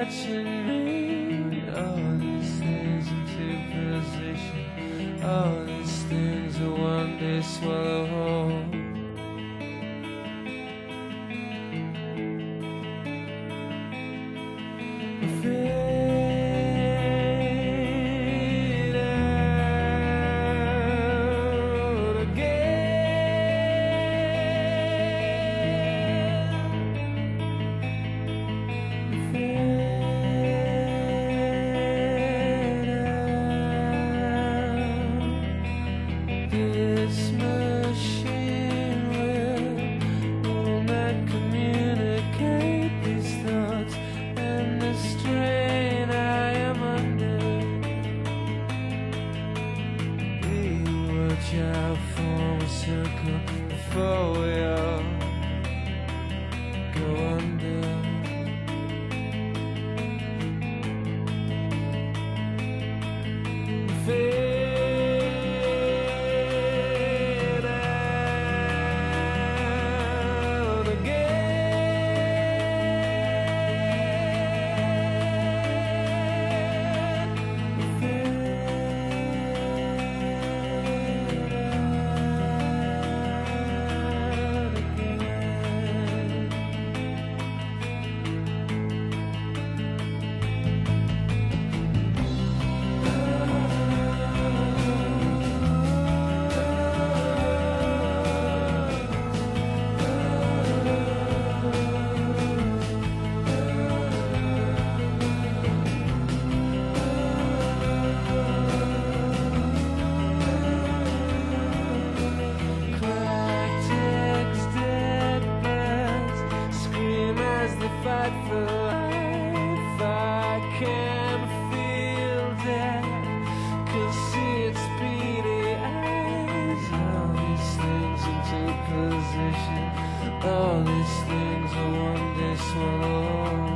touching me. All these things into position. All these things will one day swallow whole. This machine will not communicate these thoughts and the strain I am under. We watch out, form a circle before we all go under. Fight for life, I can feel death, can see its beady eyes. All these things into position, all these things will one day swallow.